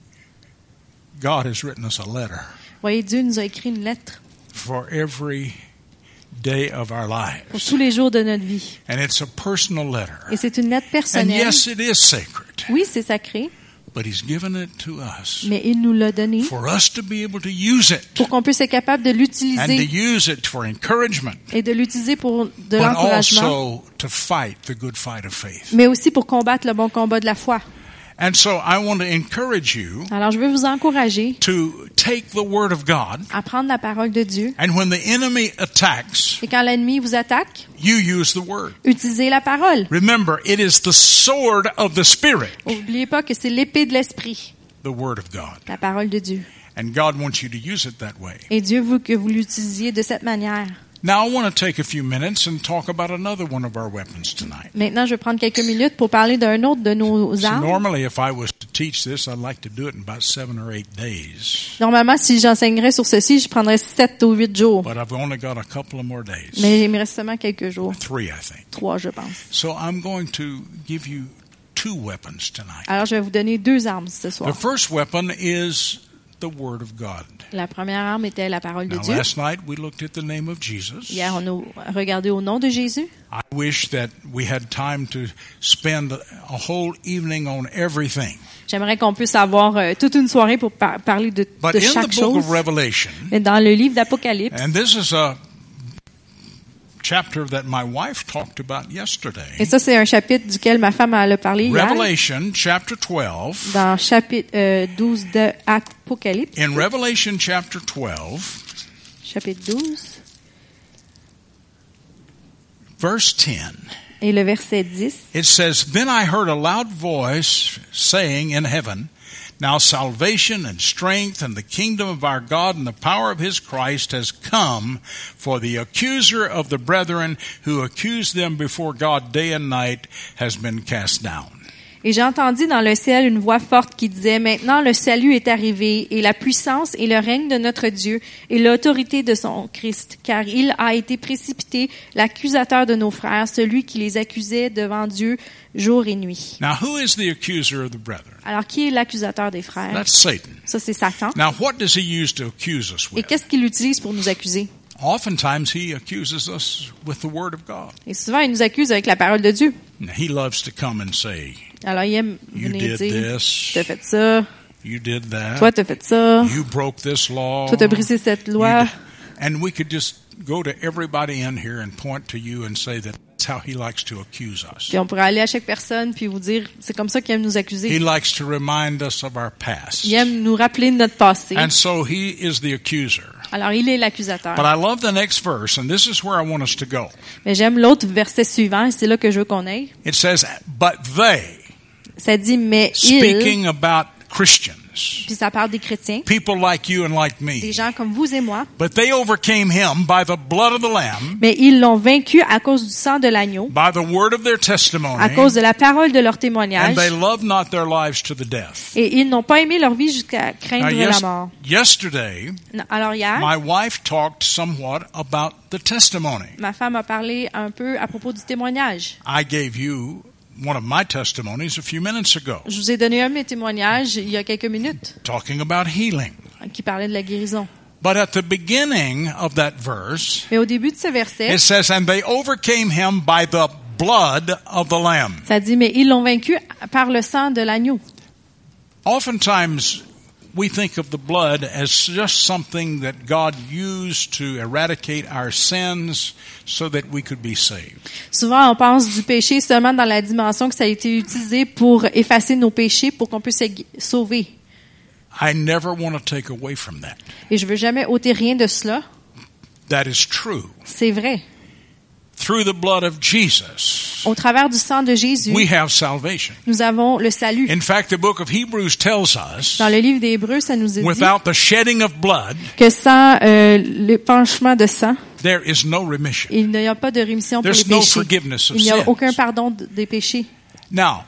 God has written us a letter Vous voyez, Dieu nous a écrit une lettre for every day of our pour lives. tous les jours de notre vie. And it's a personal letter. Et c'est une lettre And personnelle. yes, it is sacred, Oui, c'est sacré, but he's given it to us mais il nous l'a donné for us to be able to use it pour qu'on puisse être capable de and to l'utiliser use it for encouragement, et de l'utiliser pour de but l'encouragement, also to fight the good fight of faith. mais aussi pour combattre le bon combat de la foi. And so I want to encourage you Alors, je veux vous encourager to take the word of God, à prendre la parole de Dieu. and when the enemy attacks, Et quand l'ennemi vous attaque, you use the word. utilisez la parole. Remember, it is the sword of the Spirit, N'oubliez pas que c'est l'épée de l'esprit, the word of God. la parole de Dieu. And God wants you to use it that way. Et Dieu veut que vous l'utilisiez de cette manière. Now I want to take a few minutes and talk about another one of our weapons tonight. Maintenant, je vais prendre quelques minutes pour parler d'un autre de nos So armes. normally if I was to teach this, I'd like to do it in about seven or eight days. Normalement, si j'enseignerais sur ceci, je prendrais sept ou huit jours. But I've only got a couple of more days. Mais il me reste seulement quelques jours. Three, I think. Trois, je pense. So I'm going to give you two weapons tonight. Alors, je vais vous donner deux armes ce The soir. first weapon is the Word of God. La première arme était la parole de Now, Dieu. last night we looked at the name of Jesus. Hier, on a regardé au nom de Jésus. I wish that we had time to spend a whole evening on everything. J'aimerais qu'on puisse avoir euh, toute une soirée pour par- parler de, But de in chaque the book chose. of Revelation, Mais dans le livre d'Apocalypse, and this is a chapter that my wife talked about yesterday. et ça, c'est un chapitre duquel ma femme elle a parlé hier, Revelation chapter twelve. dans chapitre euh, douze de Apocalypse, In Revelation chapter twelve, chapitre douze, verse ten, et le verset dix. it says, Then I heard a loud voice saying in heaven, Now salvation and strength and the kingdom of our God and the power of his Christ has come, for the accuser of the brethren who accused them before God day and night has been cast down. Et j'ai entendu dans le ciel une voix forte qui disait, maintenant le salut est arrivé, et la puissance et le règne de notre Dieu, et l'autorité de son Christ, car il a été précipité, l'accusateur de nos frères, celui qui les accusait devant Dieu jour et nuit. Now who is the accuser of the brethren? Alors, qui est l'accusateur des frères? That's Satan. Ça, c'est Satan. Now what does he use to accuse us Et with? qu'est-ce qu'il utilise pour nous accuser? Oftentimes he accuses us with the word of God. Et souvent, il nous accuse avec la parole de Dieu. Now, he loves to come and say, Alors, il aime You venir did dire, this. t'as fait ça, You did that. toi, t'as fait ça, You broke this law. toi, t'as brisé cette You loi. did- And we could just go to everybody in here and point to you and say that that's how he likes to accuse us. Puis on pourrait aller à chaque personne puis vous dire, c'est comme ça qu'il aime nous He accuser. likes to remind us of our past. Il aime nous rappeler de notre passé. And so he is the accuser. Alors, il est l'accusateur. But I love the next verse, and this is where I want us to go. Mais j'aime l'autre verset suivant, et c'est là que je veux qu'on aille. It says, But they, Ça dit, mais il, speaking about Christians, puis ça parle des chrétiens, people like you and like des me, gens comme vous et moi, but they overcame him by the blood of the Lamb, mais ils l'ont vaincu à cause du sang de l'agneau, by the word of their à testimony, cause de la parole de leur and témoignage, they loved not their lives to the death. et ils n'ont pas aimé leur vie jusqu'à Now, craindre yes- la mort. yesterday, Non, Alors hier, my wife talked somewhat about the testimony. ma femme a parlé un peu à propos du témoignage. I gave you one of my testimonies a few minutes ago, Je vous ai donné un de mes témoignages il y a quelques minutes talking about healing. qui parlait de la guérison. But at the beginning of that verse, Mais au début de ce verset, it says, And they overcame him by the blood of the Lamb. ça dit, mais ils l'ont vaincu par le sang de l'agneau. Oftentimes, we think of the blood as just something that God used to eradicate our sins so that we could be saved. Souvent, on pense du péché seulement dans la dimension que ça a été utilisé pour effacer nos péchés, pour qu'on puisse être sauvé. I never want to take away from that. Et je veux jamais ôter rien de cela. That is true. C'est vrai. Through the blood of Jesus, Au travers du sang de Jésus, we have salvation. nous avons le salut. In fact, the book of Hebrews tells us, Dans le livre des Hébreux, ça nous est dit without the shedding of blood, que sans euh, le penchement de sang, there is no remission. il n'y a pas de rémission pour les There's no péchés. forgiveness of Il n'y a sins. aucun pardon de- des péchés. Now,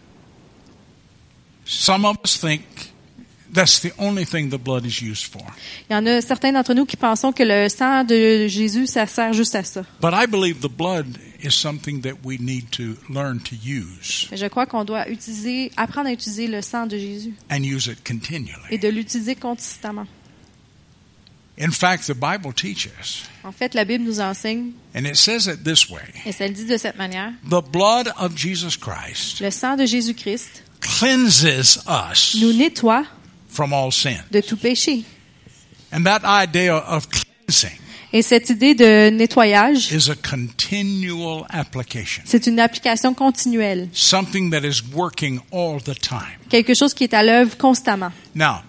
some of us think that's the only thing the blood is used for. Il y en a certains d'entre nous qui pensons que le sang de Jésus, ça sert juste à ça. But I believe the blood is something that we need to learn to use Mais je crois qu'on doit utiliser, apprendre à utiliser le sang de Jésus and use it et continually. de l'utiliser constamment. In fact, the Bible teaches, En fait, la Bible nous enseigne, and it says it this way, et ça le dit de cette manière, the blood of Jesus Christ le sang de Jésus-Christ cleanses us nous nettoie from all sin. de tout péché. And that idea of cleansing Et cette idée de nettoyage, is a continual application, c'est une application continuelle, something that is working all the time. quelque chose qui est à l'œuvre constamment. Now,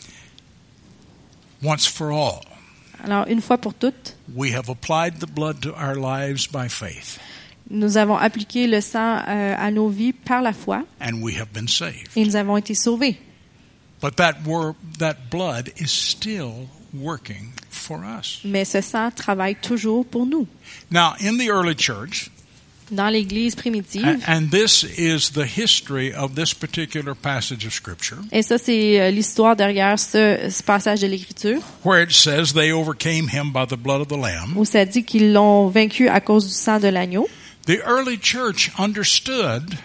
once for all, Alors, une fois pour toutes, we have applied the blood to our lives by faith, nous avons appliqué le sang euh, à nos vies par la foi and we have been saved. et nous avons été sauvés. But that wor- that blood is still working for us. Mais ce sang travaille toujours pour nous. Now, in the early church, Dans l'Église primitive, and, and this is the history of this particular passage of Scripture, et ça c'est euh, l'histoire derrière ce, ce passage de l'Écriture, where it says they overcame him by the blood of the Lamb. où ça dit qu'ils l'ont vaincu à cause du sang de l'agneau. The early church understood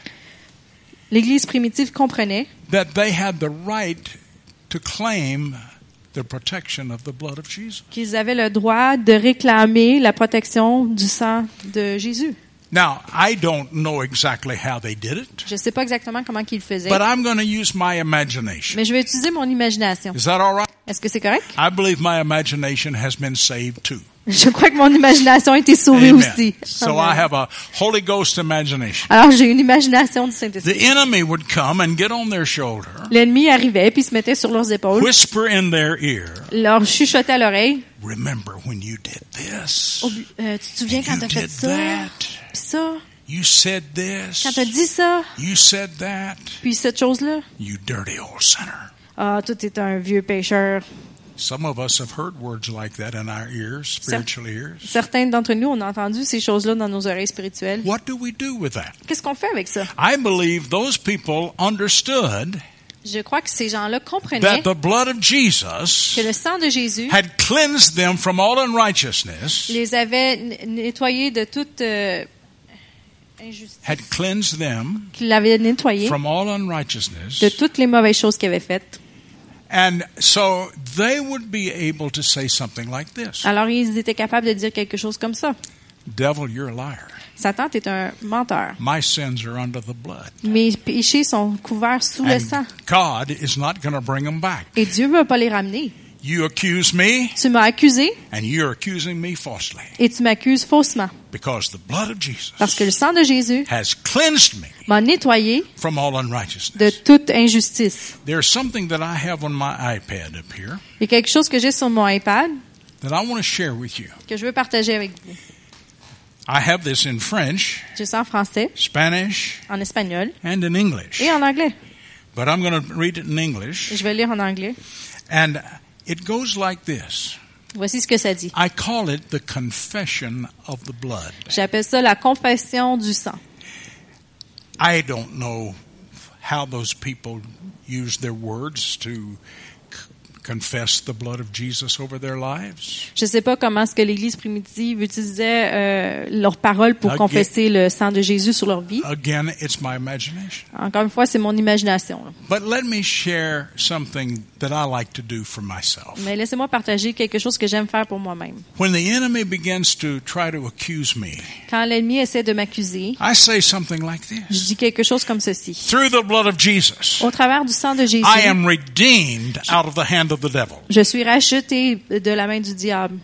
L'Église primitive comprenait that they had the right to claim the protection of the blood of Jesus. qu'ils avaient le droit de réclamer la protection du sang de Jésus. Now, I don't know exactly how they did it, Je ne sais pas exactement comment qu'ils le faisaient, but I'm going to use my imagination. mais je vais utiliser mon imagination. Is that all right? Est-ce que c'est correct? I believe my imagination has been saved too. Je crois que mon imagination a été sauvée Amen. aussi. So Amen. I have a Holy Ghost imagination. Alors j'ai une imagination du The Saint-Esprit. enemy would come and get on their shoulder, L'ennemi arrivait puis se mettait sur leurs épaules, whisper in their ear, leur chuchotait à l'oreille. remember when you did this, Oh, euh, tu te souviens quand you t'as fait did ça, that, puis ça, you said this, quand t'as dit ça, you said that, puis cette chose-là. you dirty old sinner. Ah, toi t'es un vieux pécheur. Some of us have heard words like that in our ears, spiritual ears. Certains d'entre nous, on a entendu ces choses-là dans nos oreilles spirituelles. What do we do with that? Qu'est-ce qu'on fait avec ça? I believe those people understood Je crois que ces gens-là comprenaient that the blood of Jesus que le sang de Jésus had cleansed them from all unrighteousness, les avait n- nettoyés de toute euh, injustice, had cleansed them qu'il l'avait nettoyé from all unrighteousness. de toutes les mauvaises choses qu'il avait faites. And so they would be able to say something like this. Alors ils étaient capables de dire quelque chose comme ça. Devil, you're a liar. Satan est un menteur. My sins are under the blood. Mes péchés sont couverts sous le sang. And God is not going to bring them back. Et Dieu ne va pas les ramener. You accuse me, Tu m'as accusé and you're accusing me falsely. et tu m'accuses faussement. Because the blood of Jesus Parce que le sang de Jésus has cleansed me m'a nettoyé from all de unrighteousness. toute injustice. There's something that I have on my iPad up here Il y a quelque chose que j'ai sur mon iPad that I want to share with you. que je veux partager avec vous. I have this in French, J'ai ça en français, Spanish, en espagnol and in English. et en anglais. But I'm going to read it in English. Je vais lire en anglais. And it goes like this. Voici ce que ça dit. I call it the confession of the blood. J'appelle ça la confession du sang. I don't know how those people use their words to c- confess the blood of Jesus over their lives. Je ne sais pas comment est-ce que l'Église primitive utilisait euh, leurs paroles pour Ok. confesser le sang de Jésus sur leur vie. Again, it's my imagination. Encore une fois, c'est mon imagination. là. But let me share something that I like to do for myself. Mais laissez-moi partager quelque chose que j'aime faire pour moi-même. When the enemy begins to try to accuse me, Quand l'ennemi essaie de m'accuser, I say something like je this. dis quelque chose comme ceci. Through the blood of Jesus, Au travers du sang de Jésus, I am redeemed out of the hand of the devil. je suis racheté de la main du diable.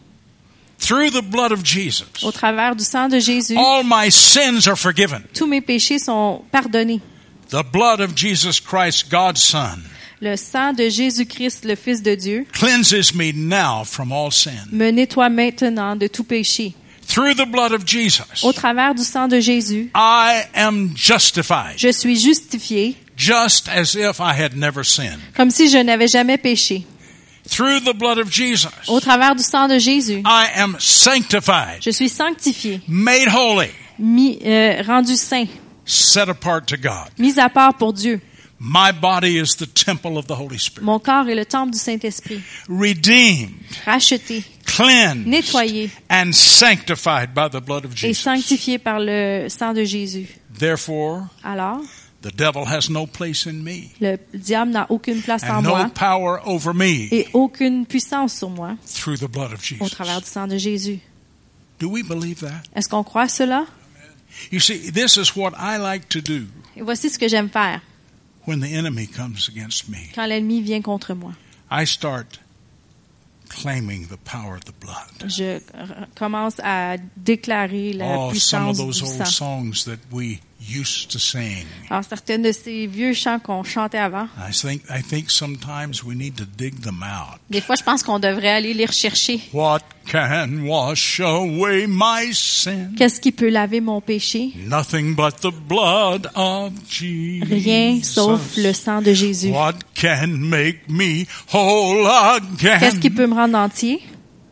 Through the blood of Jesus, Au travers du sang de Jésus, all my sins are forgiven. tous mes péchés sont pardonnés. The blood of Jesus Christ, God's Son, Le sang de Jésus-Christ, le Fils de Dieu, cleanses me now from all sin. me nettoie maintenant de tout péché. Through the blood of Jesus, Au travers du sang de Jésus, I am justified, je suis justifié just as if I had never sinned. comme si je n'avais jamais péché. Through the blood of Jesus, Au travers du sang de Jésus, I am sanctified, je suis sanctifié, made holy, mis, euh, rendu saint, set apart to God. mis à part pour Dieu. My body is the temple of the Holy Spirit. Mon corps est le temple du Saint-Esprit, Redeemed, racheté cleansed, Nettoyé. and sanctified by the blood of et Jesus. sanctifié par le sang de Jésus. Therefore, Alors, the devil has no place in me le diable n'a aucune place en and no moi power over me et aucune puissance sur moi through the blood of au Jesus. travers du sang de Jésus. Do we believe that? Est-ce qu'on croit cela? You see, this is what I like to do Et voici ce que j'aime faire when the enemy comes against me. quand l'ennemi vient contre moi. I start claiming the power of the blood. Je r- commence à déclarer la Oh, some of puissance those du old sang. songs that we used to sing. Alors, certaines de ces vieux chants qu'on chantait avant, I think I think sometimes we need to dig them out. des fois, je pense qu'on devrait aller les rechercher. What can wash away my sin? Qu'est-ce qui peut laver mon péché? Nothing but the blood of Jesus. Rien sauf le sang de Jésus. What can make me whole Qu'est-ce qui again? peut me rendre entier?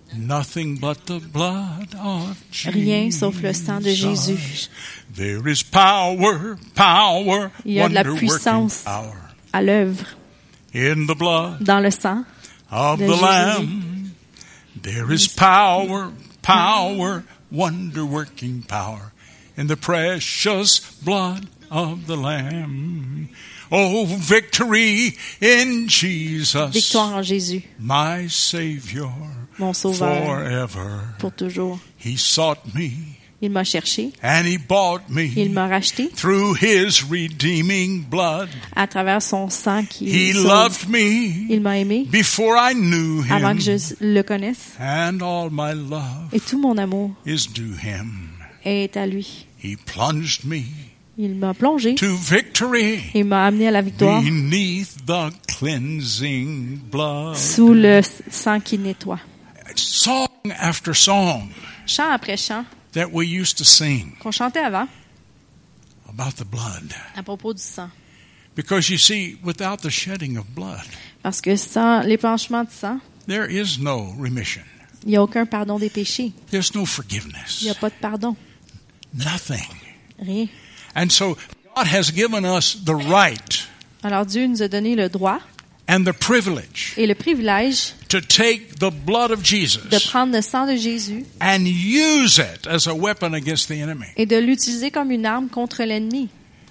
Nothing but the blood of Jesus. Rien sauf le sang de Jésus. There is power, power, Il y a de la wonder-working puissance power à l'œuvre in the blood dans le sang of de the Jésus. Lamb. There is power, power, wonder-working power in the precious blood of the Lamb. Oh, victory in Jesus, Victoire en Jésus, my Savior, mon Sauveur, forever. pour toujours. He sought me Il m'a cherché, and He bought il me m'a racheté through His redeeming blood. à travers son sang qui He sauve. loved me Il m'a aimé before I knew avant Him, que je le connaisse. and all my love Et tout mon amour is due Him. est à lui. He plunged me Il m'a plongé, to victory il m'a amené à la victoire beneath the cleansing blood. sous le sang qui nettoie. Song after song Chant après chant that we used to sing qu'on chantait avant about the blood. à propos du sang. Because you see, without the shedding of blood, Parce que sans l'épanchement de sang, there is no remission. il n'y a aucun pardon des péchés. There's no Il forgiveness. n'y a pas de pardon. Nothing. Rien. And so God has given us the right Alors Dieu nous a donné le droit and the privilege et le privilège to take the blood of de Jesus prendre le sang de Jésus and use it as a weapon against the enemy. et de l'utiliser comme une arme contre l'ennemi.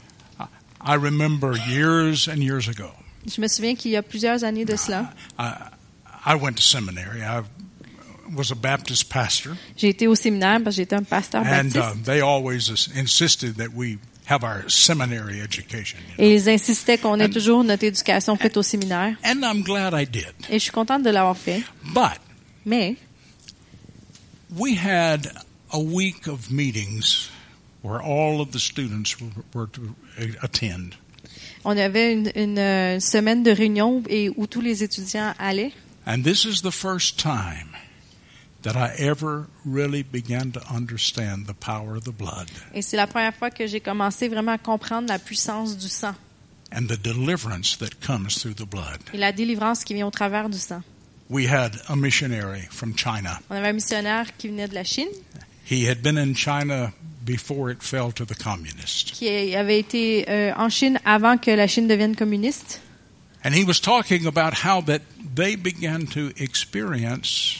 I remember years and years ago, Je me souviens qu'il y a plusieurs années de cela, I, I went to seminary. I was a Baptist pastor, j'ai été au séminaire parce que j'étais un pasteur and baptiste. uh, they always insisted that we have our seminary education. you know. Et ils insistaient qu'on ait toujours notre éducation faite au séminaire. And I'm glad I did. Et je suis contente de l'avoir fait. But Mais we had a week of meetings where all of the students were, were to attend. on avait une, une, euh, semaine de réunion et où tous les étudiants allaient. And this is the first time that I ever really began to understand the power of the blood Et c'est la première fois que j'ai commencé vraiment à comprendre la puissance du sang and the deliverance that comes through the blood. et la délivrance qui vient au travers du sang. We had a missionary from China. On avait un missionnaire qui venait de la Chine, He had been in China before it fell to the communists. qui avait été euh, en Chine avant que la Chine devienne communiste. And he was talking about how that they began to experience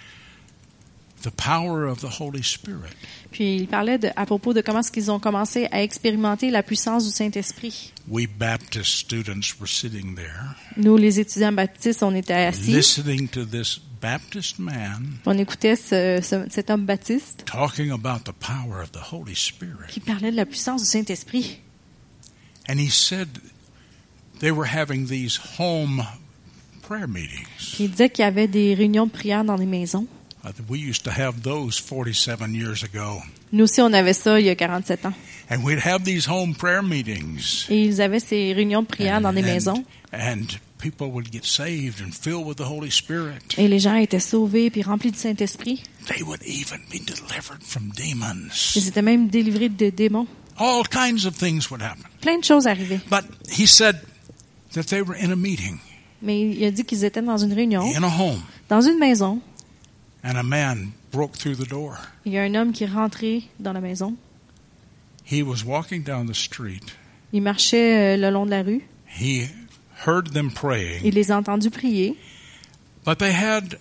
the power of the Holy Spirit. Puis il parlait de, à propos de comment est-ce qu'ils ont commencé à expérimenter la puissance du Saint-Esprit. We Baptist students were sitting there Nous, les étudiants baptistes, on était assis, listening to this Baptist man on écoutait ce, ce- cet homme baptiste talking about the power of the Holy Spirit. qui parlait de la puissance du Saint-Esprit. And he said they were having these home prayer meetings. Puis il disait qu'il y avait des réunions de prière dans des maisons. Uh, we used to have those forty-seven years ago. Nous aussi, on avait ça il y a quarante-sept ans. And we'd have these home prayer meetings. Et ils avaient ces réunions de prière dans des maisons. and people would get saved and filled with the Holy Spirit. Et les gens étaient sauvés puis remplis du Saint-Esprit. They would even be delivered from demons. Ils étaient même délivrés de démons. All kinds of things would happen. Plein de choses arrivaient. But he said that they were in a meeting, Mais il a dit qu'ils étaient dans une réunion, in a home, dans une maison. and a man broke through the door. Il y a un homme qui est rentré dans la maison. He was walking down the street. Il marchait euh, le long de la rue. He heard them praying, Il les a entendus prier. but they had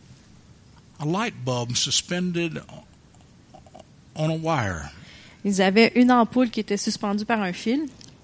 a light bulb suspended on a wire, Ils avaient une ampoule qui était suspendue par un fil.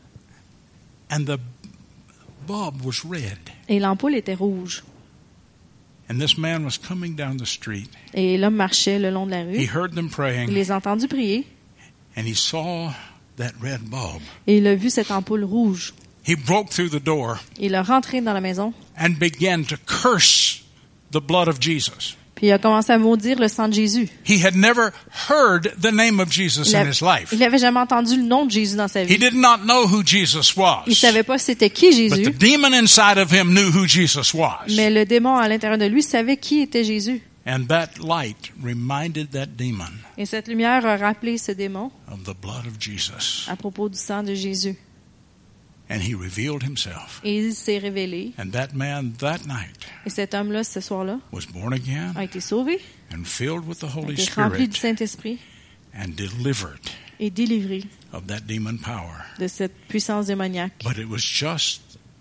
and the bulb was red. Et l'ampoule était rouge. And this man was coming down the street. Et l'homme marchait le long de la He rue. heard them Il praying, les a entendus prier. and he saw that red bulb. Et il a vu cette ampoule rouge. He broke through the door Il a rentré dans la maison. and began to curse the blood of Jesus. Puis il a commencé à maudire le sang de Jésus. He had never heard the name of Jesus Il in avait, his life. il avait jamais entendu le nom de Jésus dans sa He vie. did not know who Jesus was. Il savait pas c'était qui But the Jésus. demon inside of him knew who Jesus was. Mais le démon à l'intérieur de lui savait qui était Jésus. And that light reminded that demon Et cette lumière a rappelé ce démon of the blood of Jesus. à propos du sang de Jésus. And he revealed himself. Et il s'est révélé. And that man that night Et cet homme-là, ce soir-là, was born again a été sauvé, and filled with the a Holy été rempli du Spirit Saint-Esprit and delivered et délivré of that demon power. de cette puissance démoniaque. But it was just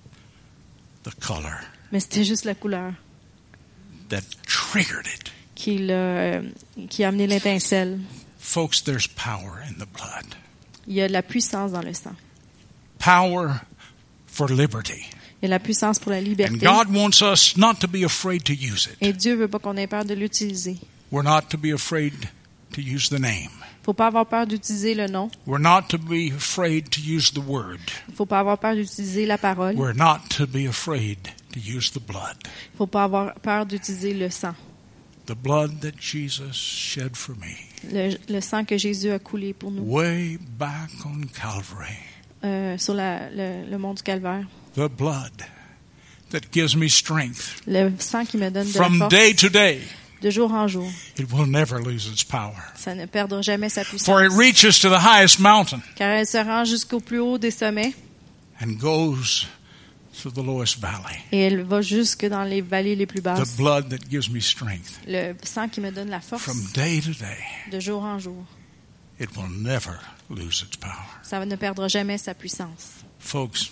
the color Mais c'était juste la couleur that triggered it. qui, l'a, euh, qui a amené l'étincelle. Folks, there's power in the blood. Il y a de la puissance dans le sang. Power for liberty. Il y a de la puissance pour la And liberté. God wants us not to be afraid to use it. Et Dieu veut pas qu'on ait peur de l'utiliser. We're not to be afraid to use the name. Faut pas avoir peur d'utiliser le nom. We're not to be afraid to use the word. Faut pas avoir peur d'utiliser la parole. We're not to be afraid to use the blood. Faut pas avoir peur d'utiliser le sang. The blood that Jesus shed for me Le, le sang que Jésus a coulé pour nous way back on Calvary. euh, sur la, le, le mont du Calvaire. The blood that gives me strength Le sang qui me donne de la from force day to day. de jour en jour. It will never lose its power. Ça ne perdra jamais sa puissance. For it reaches to the highest mountain Car elle se rend jusqu'au plus haut des sommets and goes to the lowest valley. et elle va jusque dans les vallées les plus The basses. blood that gives me strength Le sang qui me donne la force from day to day. de jour en jour. It will never lose its power. Ça ne perdra jamais sa puissance. Folks,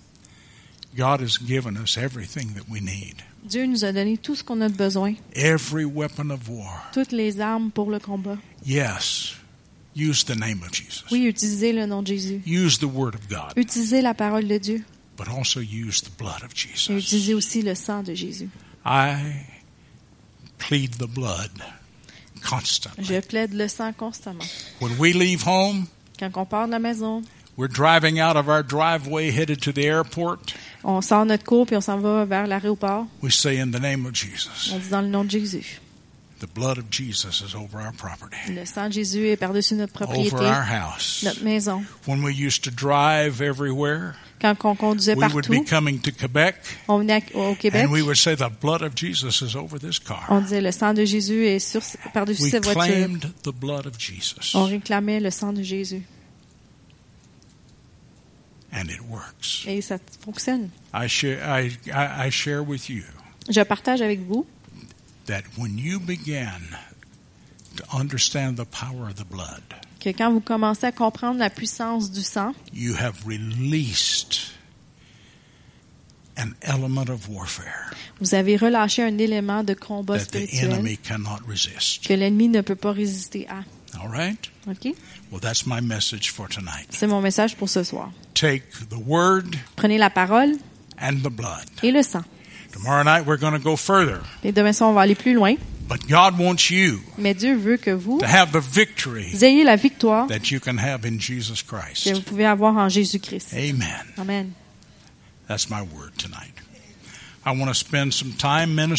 God has given us everything that we need. Dieu nous a donné tout ce qu'on a besoin, Every weapon of war. toutes les armes pour le combat. Yes, use the name of Jesus. Oui, utilisez le nom de Jésus. Use the word of God, Utilisez la parole de Dieu. but also use the blood of Et Jesus. utilisez aussi le sang de Jésus. I plead the blood constantly. Je plaide le sang constamment. When we leave home, Quand on part de la maison, we're driving out of our driveway headed to the airport. on sort notre cour puis on s'en va vers l'aéroport. We say in the name of Jesus. On dit dans le nom de Jésus. The blood of Jesus is over our property, Le sang de Jésus est par-dessus notre propriété, over our house. notre maison. When we used to drive everywhere, Quand on conduisait we would be partout, coming to Quebec, on venait à- au Québec, and we would say the blood of Jesus is over this car. on disait le sang de Jésus est sur, par-dessus We cette voiture. claimed the blood of Jesus, On réclamait le sang de Jésus. and it works. Et ça fonctionne. I share, I, I, I share with you Je partage avec vous that when you begin to understand the power of the blood, que quand vous commencez à comprendre la puissance du sang, you have released an element of warfare vous avez relâché un élément de combat that the spirituel enemy cannot resist. que l'ennemi ne peut pas résister à. All right? OK? Well, that's my message for tonight. C'est mon message pour ce soir. Take the word Prenez la parole and the blood. et le sang. Tomorrow night we're going to go further. Et demain soir, on va aller plus loin. But God wants you Mais Dieu veut que vous to have the victory ayez la victoire that you can have in Jesus que Christ. vous pouvez avoir en Jésus-Christ. Amen. Amen. That's my word tonight. I want to spend some time ministering